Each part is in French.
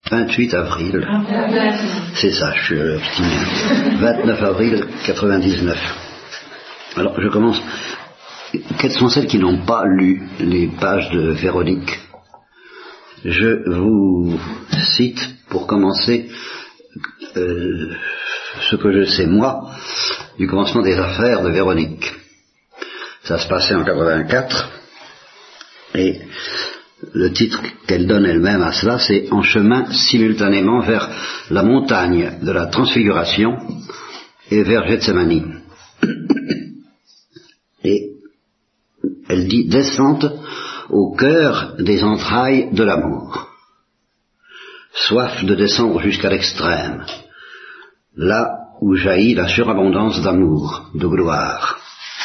28 avril. C'est ça, je suis optimiste. 29 avril 99. Alors, je commence. Quelles sont celles qui n'ont pas lu les pages de Véronique? Je vous cite, pour commencer, ce que je sais, moi, du commencement des affaires de Véronique. Ça se passait en 84, et le titre qu'elle donne elle-même à cela, c'est « En chemin simultanément vers la montagne de la transfiguration et vers Gethsémani ». Et elle dit « Descente au cœur des entrailles de l'amour. Soif de descendre jusqu'à l'extrême, là où jaillit la surabondance d'amour, de gloire. »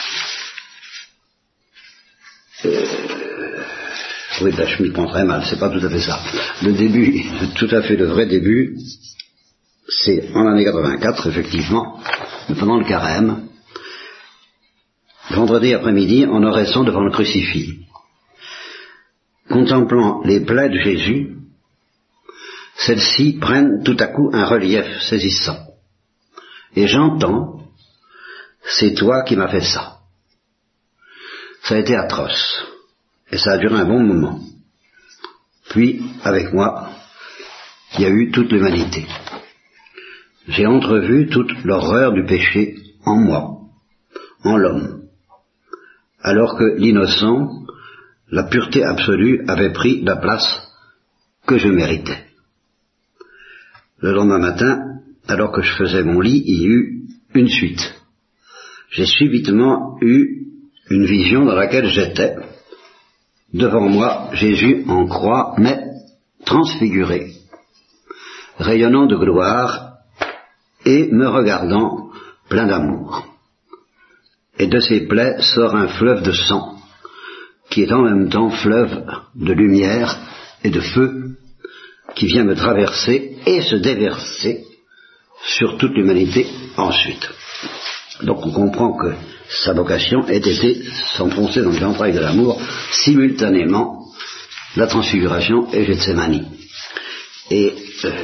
Oui, ben, je m'y prends très mal, c'est pas tout à fait ça. Le début, tout à fait le vrai début, c'est en l'année 84, effectivement, pendant le carême, vendredi après-midi, en oraison devant le crucifix. Contemplant les plaies de Jésus, celles-ci prennent tout à coup un relief saisissant. Et j'entends, c'est toi qui m'as fait ça. Ça a été atroce. Et ça a duré un bon moment. Puis, avec moi, il y a eu toute l'humanité. J'ai entrevu toute l'horreur du péché en moi, en l'homme, alors que l'innocent, la pureté absolue, avait pris la place que je méritais. Le lendemain matin, alors que je faisais mon lit, il y eut une suite. J'ai subitement eu une vision dans laquelle j'étais. Devant moi, Jésus en croix, mais transfiguré, rayonnant de gloire et me regardant plein d'amour. Et de ses plaies sort un fleuve de sang, qui est en même temps fleuve de lumière et de feu, qui vient me traverser et se déverser sur toute l'humanité ensuite. Donc on comprend que sa vocation ait été s'enfoncer dans les entrailles de l'amour simultanément la transfiguration et Gethsémani. Et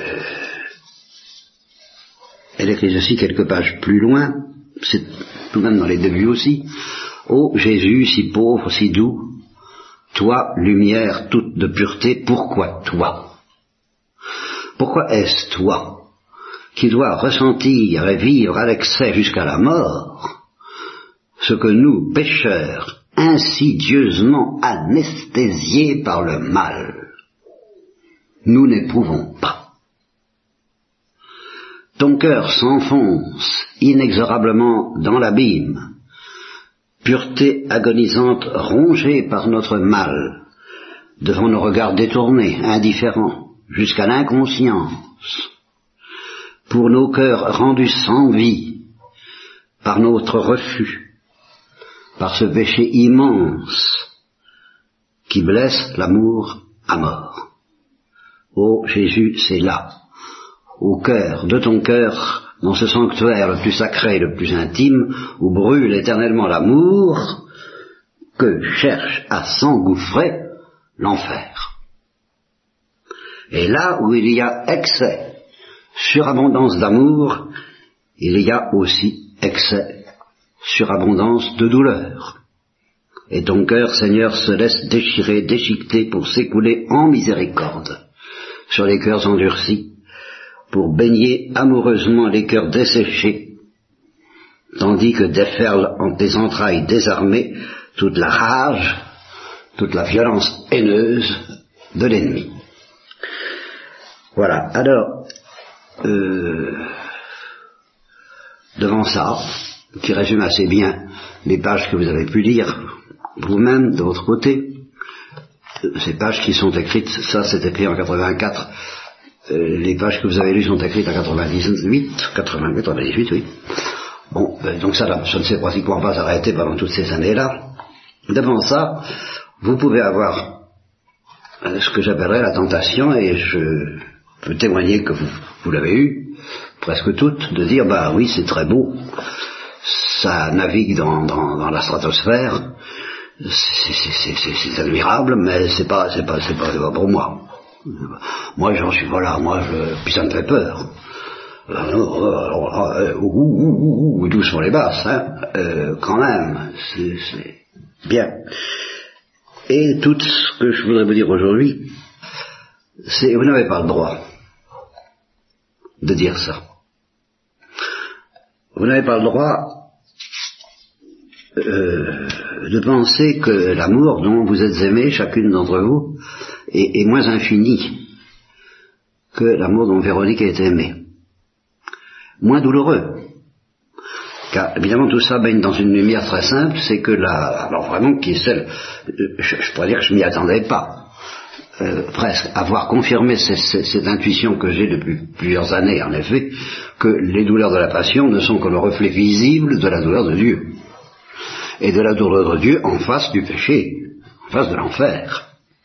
elle écrit ceci quelques pages plus loin, c'est tout de même dans les débuts aussi. Ô Jésus, si pauvre, si doux, toi, lumière toute de pureté, pourquoi toi? Pourquoi est-ce toi qui dois ressentir et vivre à l'excès jusqu'à la mort ce que nous, pécheurs, insidieusement anesthésiés par le mal, nous n'éprouvons pas? Ton cœur s'enfonce inexorablement dans l'abîme, pureté agonisante rongée par notre mal, devant nos regards détournés, indifférents, jusqu'à l'inconscience, pour nos cœurs rendus sans vie, par notre refus, par ce péché immense qui blesse l'amour à mort. Ô Jésus, c'est là, au cœur de ton cœur, dans ce sanctuaire le plus sacré, le plus intime, où brûle éternellement l'amour, que cherche à s'engouffrer l'enfer. Et là où il y a excès, surabondance d'amour, il y a aussi excès, surabondance de douleur. Et ton cœur, Seigneur, se laisse déchirer, déchiqueter pour s'écouler en miséricorde sur les cœurs endurcis, pour baigner amoureusement les cœurs desséchés, tandis que déferle en tes entrailles désarmées toute la rage, toute la violence haineuse de l'ennemi. Voilà, alors, devant ça, qui résume assez bien les pages que vous avez pu lire vous-même de votre côté, ces pages qui sont écrites, ça c'est écrit en 84, les pages que vous avez lues sont écrites en 98, oui. Bon, donc ça ne s'est pratiquement pas arrêté pendant toutes ces années-là. Devant ça, vous pouvez avoir ce que j'appellerais la tentation, et je peux témoigner que vous l'avez eu, presque toutes, de dire, bah oui, c'est très beau, ça navigue dans la stratosphère, c'est admirable, mais c'est pas pour moi. Moi, j'en suis, voilà, puis ça me fait peur. D'où sont les basses, hein, quand même, c'est bien. Et tout ce que je voudrais vous dire aujourd'hui, c'est, vous n'avez pas le droit de dire ça. Vous n'avez pas le droit de penser que l'amour dont vous êtes aimés, chacune d'entre vous, est moins infini que l'amour dont Véronique a été aimée. Moins douloureux. Car évidemment tout ça baigne dans une lumière très simple, c'est que alors vraiment qui est celle, je pourrais dire que je m'y attendais pas, presque, avoir confirmé cette intuition que j'ai depuis plusieurs années en effet, que les douleurs de la passion ne sont que le reflet visible de la douleur de Dieu. Et de la douleur de Dieu en face du péché, en face de l'enfer.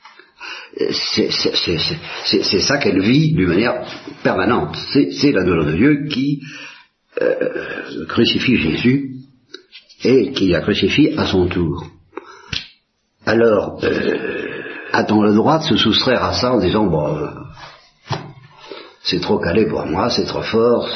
C'est ça qu'elle vit d'une manière permanente. C'est la douleur de Dieu qui crucifie Jésus et qui la crucifie à son tour. Alors, a-t-on le droit de se soustraire à ça en disant bon, c'est trop calé pour moi, c'est trop fort,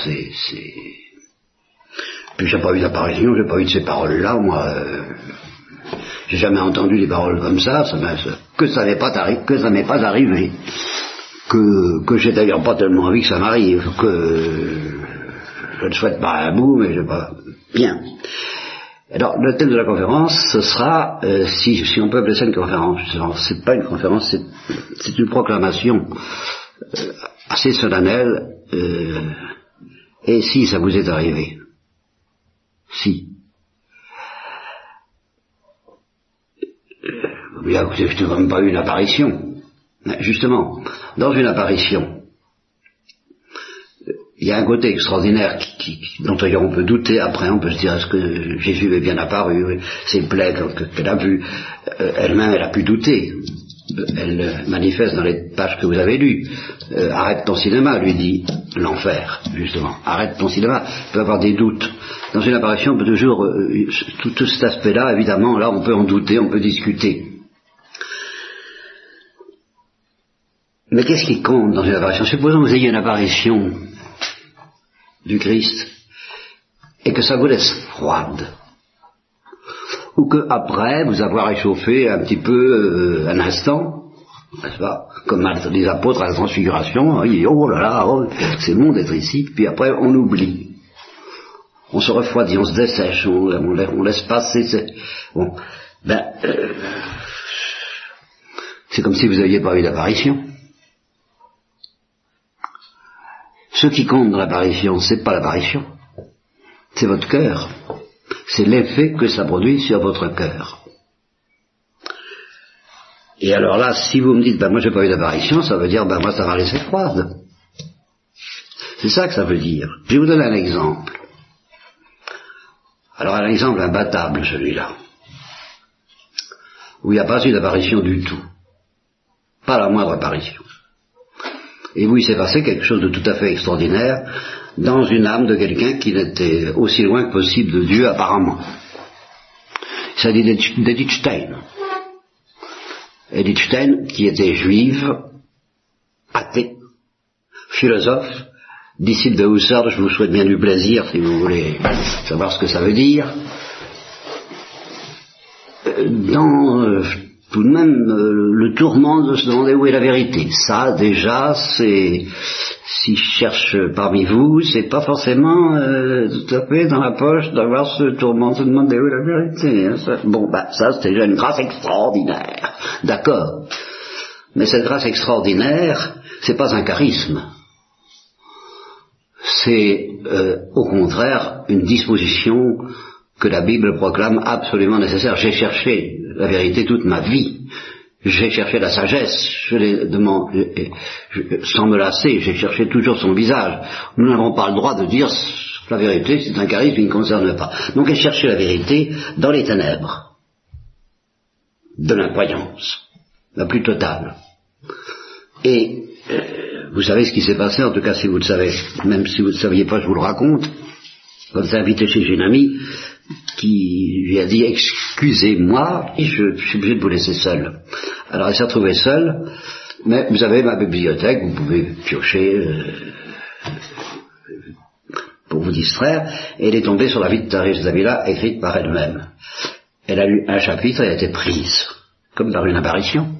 puis j'ai pas eu d'apparition, j'ai pas eu de ces paroles-là, moi. J'ai jamais entendu des paroles comme ça, que ça m'est pas arrivé, que j'ai d'ailleurs pas tellement envie que ça m'arrive, que je ne souhaite pas un bout, mais je pas bien. Alors le thème de la conférence, ce sera, si on peut appeler ça une conférence, c'est pas une conférence, c'est une proclamation assez solennelle, et si ça vous est arrivé, si. Je n'ai même pas eu une apparition. Justement, dans une apparition, il y a un côté extraordinaire dont on peut douter après, on peut se dire est-ce que Jésus est bien apparu, ses plaies qu'elle a vues, elle-même elle a pu douter. Elle manifeste dans les pages que vous avez lues. Arrête ton cinéma, lui dit l'enfer, justement. Arrête ton cinéma, il peut avoir des doutes. Dans une apparition, on peut toujours, tout cet aspect-là, évidemment, là on peut en douter, on peut discuter. Mais qu'est-ce qui compte dans une apparition? Supposons que vous ayez une apparition du Christ et que ça vous laisse froide, ou que après vous avoir échauffé un petit peu un instant, n'est-ce pas, comme les apôtres à la transfiguration, ils disent oh là là, c'est bon d'être ici, puis après on oublie, on se refroidit, on se dessèche, on laisse passer, bon, c'est comme si vous n'aviez pas eu d'apparition. Ce qui compte dans l'apparition, c'est pas l'apparition, c'est votre cœur, c'est l'effet que ça produit sur votre cœur. Et alors là, si vous me dites, moi j'ai pas eu d'apparition, ça veut dire, moi ça m'a laissé froide. C'est ça que ça veut dire. Je vais vous donner un exemple. Alors un exemple imbattable, celui-là, où il n'y a pas eu d'apparition du tout, pas la moindre apparition. Et où il s'est passé quelque chose de tout à fait extraordinaire dans une âme de quelqu'un qui n'était aussi loin que possible de Dieu apparemment. Il s'agit d'Edith Stein. Edith Stein, qui était juive, athée, philosophe, disciple de Husserl. Je vous souhaite bien du plaisir si vous voulez savoir ce que ça veut dire. Tout de même, le tourment de se demander où est la vérité. Ça, déjà, c'est, si je cherche parmi vous, c'est pas forcément tout à fait dans la poche d'avoir ce tourment de se demander où est la vérité. Hein, ça. Ça, c'est déjà une grâce extraordinaire. D'accord. Mais cette grâce extraordinaire, c'est pas un charisme. C'est, au contraire, une disposition que la Bible proclame absolument nécessaire. J'ai cherché la vérité toute ma vie. J'ai cherché la sagesse, sans me lasser, j'ai cherché toujours son visage. Nous n'avons pas le droit de dire la vérité, c'est un charisme qui ne concerne pas. Donc elle cherchait la vérité dans les ténèbres de l'incroyance, la plus totale. Et vous savez ce qui s'est passé, en tout cas si vous le savez, même si vous ne le saviez pas, je vous le raconte. Quand s'est invité chez une amie qui lui a dit excusez-moi, je suis obligé de vous laisser seul. Alors elle s'est retrouvée seule Mais vous avez ma bibliothèque, vous pouvez piocher pour vous distraire, et elle est tombée sur la vie de Thérèse d'Avila, écrite par elle-même. Elle a lu un chapitre et elle a été prise, comme par une apparition.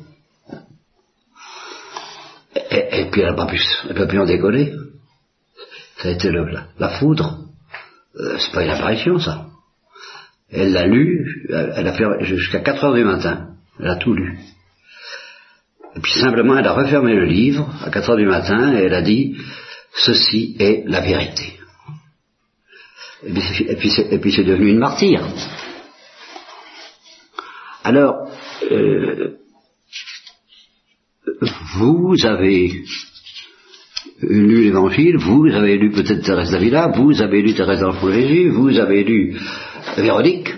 Et puis elle ne peut plus en décoller. Ça a été la foudre. C'est pas une apparition, ça. Elle l'a lu, elle a fait jusqu'à 4 heures du matin. Elle a tout lu. Et puis simplement, elle a refermé le livre à 4 heures du matin et elle a dit « Ceci est la vérité ». Et puis c'est devenu une martyre. Alors, vous avez lu l'Évangile, vous avez lu peut-être Thérèse d'Avila, vous avez lu Thérèse d'Enfant Jésus, vous avez lu Véronique.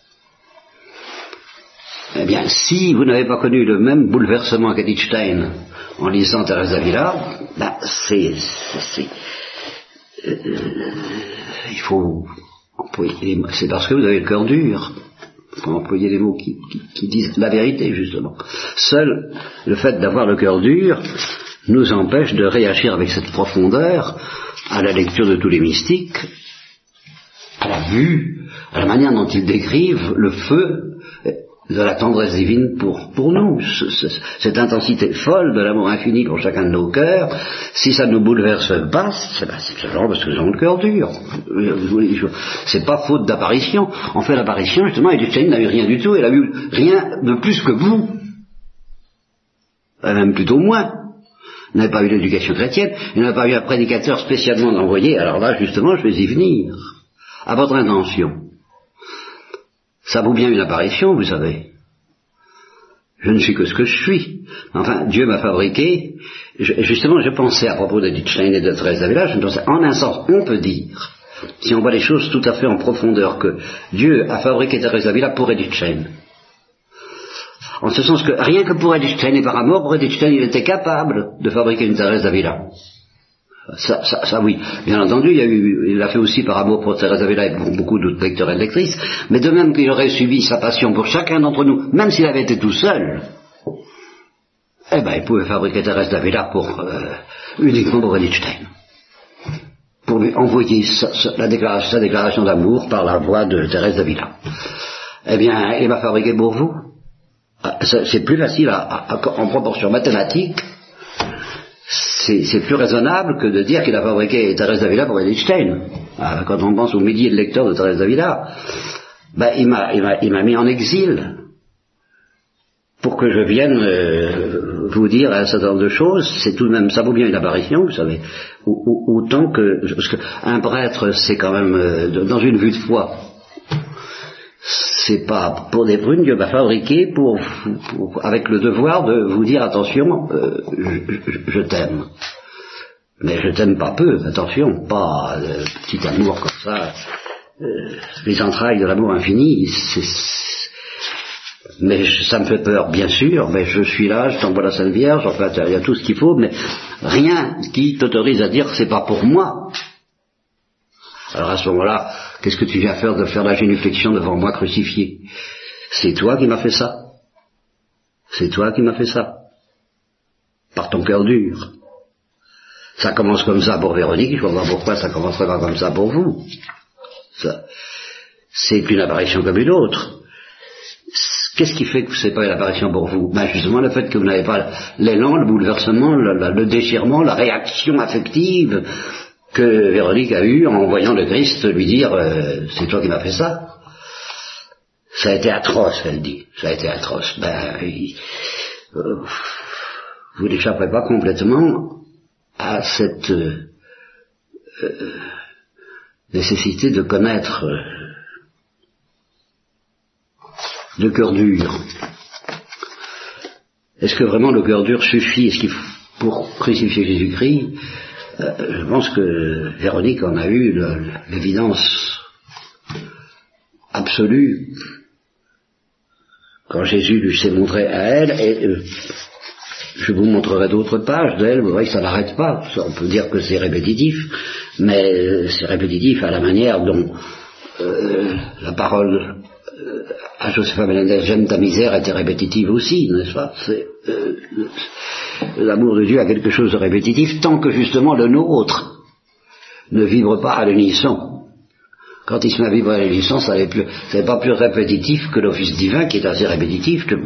Eh bien, si vous n'avez pas connu le même bouleversement qu'Edith Stein en lisant Thérèse d'Avila, ben il faut employer les mots. C'est parce que vous avez le cœur dur. Il faut employer les mots qui disent la vérité, justement. Seul le fait d'avoir le cœur dur nous empêche de réagir avec cette profondeur à la lecture de tous les mystiques, à la vue, à la manière dont ils décrivent le feu de la tendresse divine pour nous, cette intensité folle de l'amour infini pour chacun de nos cœurs. Si ça ne nous bouleverse pas, c'est genre parce que nous avons le cœur dur. C'est pas faute d'apparition. En fait, l'apparition, justement, Edith Stein n'a eu rien du tout, elle a eu rien de plus que vous. Même plutôt moins. Elle n'avait pas eu l'éducation chrétienne, elle n'a pas eu un prédicateur spécialement envoyé. Alors là, justement, je vais y venir. À votre intention. Ça vaut bien une apparition, vous savez. Je ne suis que ce que je suis. Enfin, Dieu m'a fabriqué. Justement, je pensais à propos d'Edith Stein et de Thérèse d'Avila, en un sens, on peut dire, si on voit les choses tout à fait en profondeur, que Dieu a fabriqué Thérèse d'Avila pour Edith Stein. En ce sens que rien que pour Edith Stein et par amour pour Edith Stein, il était capable de fabriquer une Thérèse d'Avila. Ça oui. Bien entendu, il l'a fait aussi par amour pour Thérèse d'Avila et pour beaucoup d'autres lecteurs et lectrices, mais de même qu'il aurait subi sa passion pour chacun d'entre nous, même s'il avait été tout seul, eh ben, il pouvait fabriquer Thérèse d'Avila uniquement pour Edith Stein. Pour lui envoyer sa déclaration d'amour par la voix de Thérèse d'Avila. Eh bien, il m'a fabriqué pour vous. C'est plus facile en proportion mathématique. C'est plus raisonnable que de dire qu'il a fabriqué Thérèse d'Avila pour Edith Stein. Quand on pense aux milliers de lecteurs de Thérèse d'Avila, ben, il m'a mis en exil pour que je vienne vous dire un certain nombre de choses. C'est tout de même, ça vaut bien une apparition, vous savez. Autant que, parce qu'un prêtre, c'est quand même dans une vue de foi. C'est pas pour des prunes, Dieu m'a fabriqué avec le devoir de vous dire attention, je t'aime. Mais je t'aime pas peu, attention, pas petit amour comme ça. Les entrailles de l'amour infini, mais ça me fait peur, bien sûr, mais je suis là, je t'envoie la Sainte Vierge, enfin il y a tout ce qu'il faut, mais rien qui t'autorise à dire que c'est pas pour moi. Alors à ce moment-là, qu'est-ce que tu viens faire de faire la génuflexion devant moi crucifié? C'est toi qui m'as fait ça. C'est toi qui m'as fait ça. Par ton cœur dur. Ça commence comme ça pour Véronique, je ne vois pas pourquoi ça commencerait pas comme ça pour vous. C'est une apparition comme une autre. Qu'est-ce qui fait que ce n'est pas une apparition pour vous? Ben justement le fait que vous n'avez pas l'élan, le bouleversement, le déchirement, la réaction affective que Véronique a eu en voyant le Christ lui dire c'est toi qui m'as fait ça. Ça a été atroce, elle dit. Ça a été atroce. Vous n'échapperez pas complètement à cette nécessité de connaître le cœur dur. Est-ce que vraiment le cœur dur suffit? Est-ce qu'il faut, pour crucifier Jésus-Christ? Je pense que Véronique en a eu l'évidence absolue quand Jésus lui s'est montré à elle, et je vous montrerai d'autres pages d'elle, vous voyez que ça n'arrête pas. On peut dire que c'est répétitif, mais c'est répétitif à la manière dont la parole Josepha Menendez, j'aime ta misère était répétitive aussi, n'est-ce pas? L'amour de Dieu a quelque chose de répétitif tant que justement le nôtre ne vibre pas à l'unisson. Quand il se met à vibrer à l'unisson, c'est pas plus répétitif que l'office divin qui est assez répétitif. Le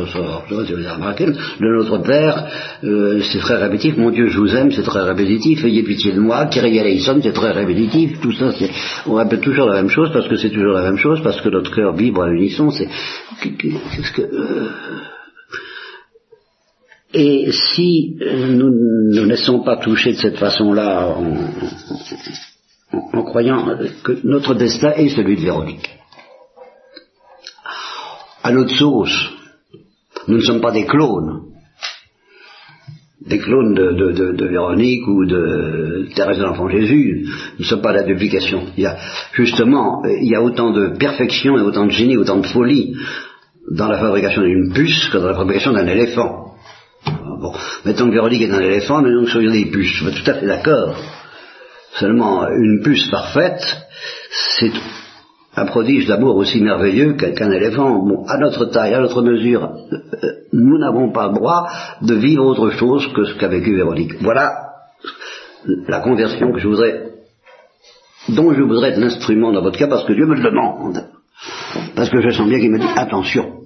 Notre Père, c'est très répétitif. Mon Dieu, je vous aime, c'est très répétitif. Ayez pitié de moi. Kyrie eleison, c'est très répétitif. Tout ça, on répète toujours la même chose parce que c'est toujours la même chose, parce que notre cœur vibre à l'unisson. Et si nous ne laissons pas toucher de cette façon-là en croyant que notre destin est celui de Véronique, à notre sauce, nous ne sommes pas des clones de Véronique ou de Thérèse de l'Enfant Jésus, nous ne sommes pas la duplication. Il y a autant de perfection et autant de génie, autant de folie dans la fabrication d'une puce que dans la fabrication d'un éléphant. Bon, mettons que Véronique est un éléphant, mais nous soyons des puces, je suis tout à fait d'accord. Seulement, une puce parfaite, c'est un prodige d'amour aussi merveilleux qu'un éléphant. Bon, à notre taille, à notre mesure, nous n'avons pas le droit de vivre autre chose que ce qu'a vécu Véronique. Voilà la conversion dont je voudrais être l'instrument dans votre cas, parce que Dieu me le demande. Parce que je sens bien qu'il me dit, attention,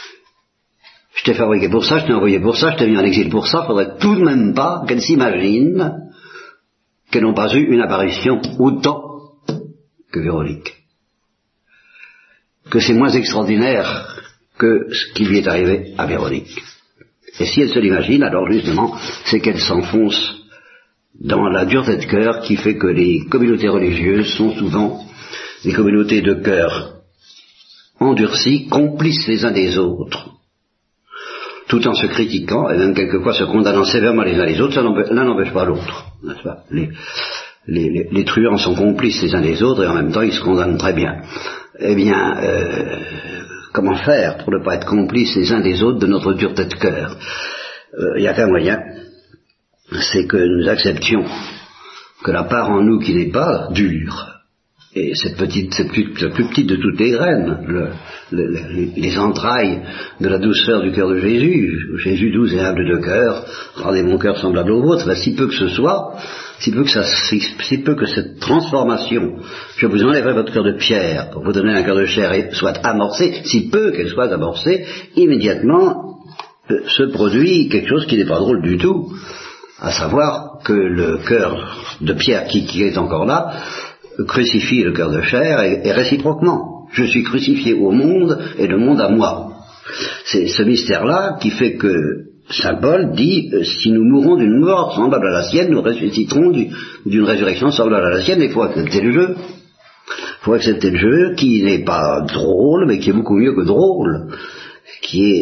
je t'ai fabriqué pour ça, je t'ai envoyé pour ça, je t'ai mis en exil pour ça, faudrait tout de même pas qu'elle s'imagine qu'elles n'ont pas eu une apparition autant que Véronique. Que c'est moins extraordinaire que ce qui lui est arrivé à Véronique. Et si elle se l'imagine, alors justement, c'est qu'elle s'enfonce dans la dureté de cœur qui fait que les communautés religieuses sont souvent des communautés de cœur endurcis, complices les uns des autres, tout en se critiquant et même quelquefois se condamnant sévèrement les uns les autres. L'un n'empêche pas l'autre, n'est-ce pas? Les truands sont complices les uns des autres et en même temps ils se condamnent très bien. Eh bien, comment faire pour ne pas être complices les uns des autres de notre dureté de cœur? Il n'y a qu'un moyen, c'est que nous acceptions que la part en nous qui n'est pas dure, et cette plus petite de toutes les graines, les entrailles de la douceur du cœur de Jésus, Jésus doux et humble de cœur, rendez mon cœur semblable au vôtre, si peu que ce soit, si peu que cette transformation, je vous enlèverai votre cœur de pierre pour vous donner un cœur de chair et soit amorcée, si peu qu'elle soit amorcée, immédiatement se produit quelque chose qui n'est pas drôle du tout, à savoir que le cœur de pierre qui est encore là crucifie le cœur de chair et réciproquement. Je suis crucifié au monde et le monde à moi. C'est ce mystère-là qui fait que Saint Paul dit, si nous mourons d'une mort semblable à la sienne, nous ressusciterons d'une résurrection semblable à la sienne, et il faut accepter le jeu. Il faut accepter le jeu qui n'est pas drôle, mais qui est beaucoup mieux que drôle, qui est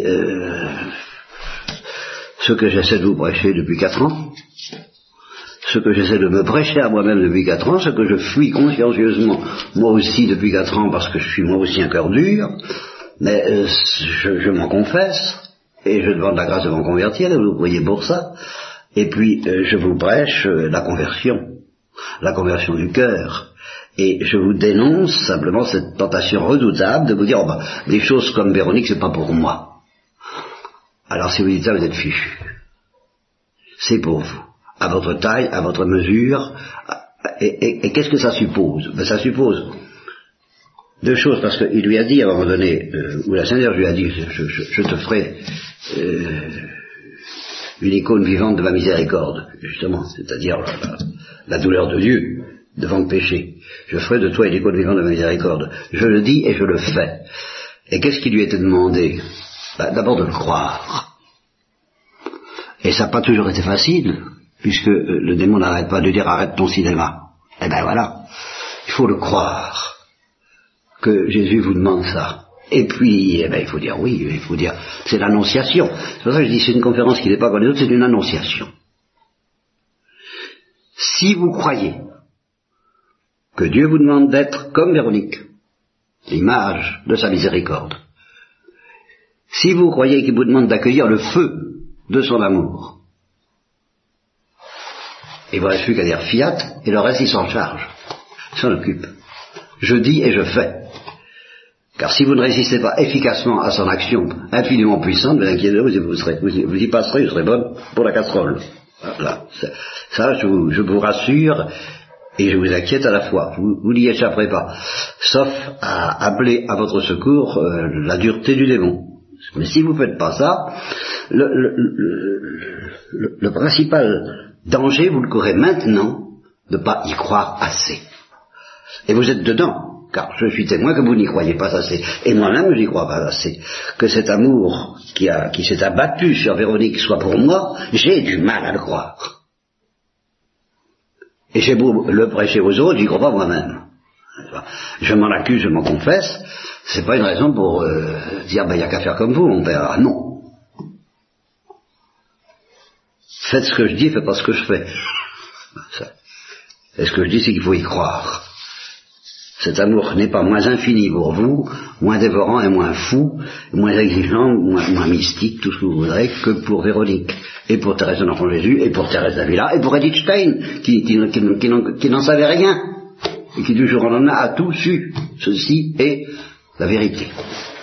ce que j'essaie de vous prêcher depuis 4 ans, ce que j'essaie de me prêcher à moi-même depuis 4 ans, ce que je fuis consciencieusement moi aussi depuis 4 ans parce que je suis moi aussi un cœur dur, mais je m'en confesse et je demande la grâce de m'en convertir et vous priez pour ça, et puis je vous prêche la conversion du cœur, et je vous dénonce simplement cette tentation redoutable de vous dire des choses comme Véronique c'est pas pour moi. Alors si vous dites ça, vous êtes fichu. C'est pour vous, à votre taille, à votre mesure. Et qu'est-ce que ça suppose? Ça suppose 2 choses, parce qu'il lui a dit à un moment donné, où la Sainte Vierge lui a dit, je te ferai une icône vivante de ma miséricorde, justement, c'est-à-dire la douleur de Dieu devant le péché. Je ferai de toi une icône vivante de ma miséricorde. Je le dis et je le fais. Et qu'est-ce qui lui était demandé? D'abord de le croire. Et ça n'a pas toujours été facile, puisque le démon n'arrête pas de dire arrête ton cinéma. Eh ben voilà, il faut le croire, que Jésus vous demande ça. Et puis, il faut dire oui, il faut dire, c'est l'annonciation. C'est pour ça que je dis c'est une conférence qui n'est pas comme les autres, c'est une annonciation. Si vous croyez que Dieu vous demande d'être comme Véronique, l'image de sa miséricorde, si vous croyez qu'il vous demande d'accueillir le feu de son amour, il ne vous reste plus qu'à dire fiat, et le reste il s'en charge, il s'en occupe. Je dis et je fais. Car si vous ne résistez pas efficacement à son action infiniment puissante, vous inquiétez, vous y passerez, vous serez bonne pour la casserole. Voilà. Ça, je vous rassure, et je vous inquiète à la fois. Vous n'y échapperez pas. Sauf à appeler à votre secours la dureté du démon. Mais si vous ne faites pas ça, le principal danger, vous le courez maintenant, de ne pas y croire assez. Et vous êtes dedans. Car je suis témoin que vous n'y croyez pas assez. Et moi-même, je n'y crois pas assez. Que cet amour qui s'est abattu sur Véronique soit pour moi, j'ai du mal à le croire. Et j'ai beau le prêcher aux autres, j'y crois pas moi-même. Je m'en accuse, je m'en confesse. C'est pas une raison pour dire, il n'y a qu'à faire comme vous, mon père. Ah, non. Faites ce que je dis, faites pas ce que je fais. Et ce que je dis, c'est qu'il faut y croire. Cet amour n'est pas moins infini pour vous, moins dévorant et moins fou, moins exigeant, moins mystique, tout ce que vous voudrez, que pour Véronique, et pour Thérèse de l'Enfant Jésus, et pour Thérèse d'Avila, et pour Edith Stein, qui n'en savait rien, et qui du jour au lendemain a tout su. Ceci est la vérité.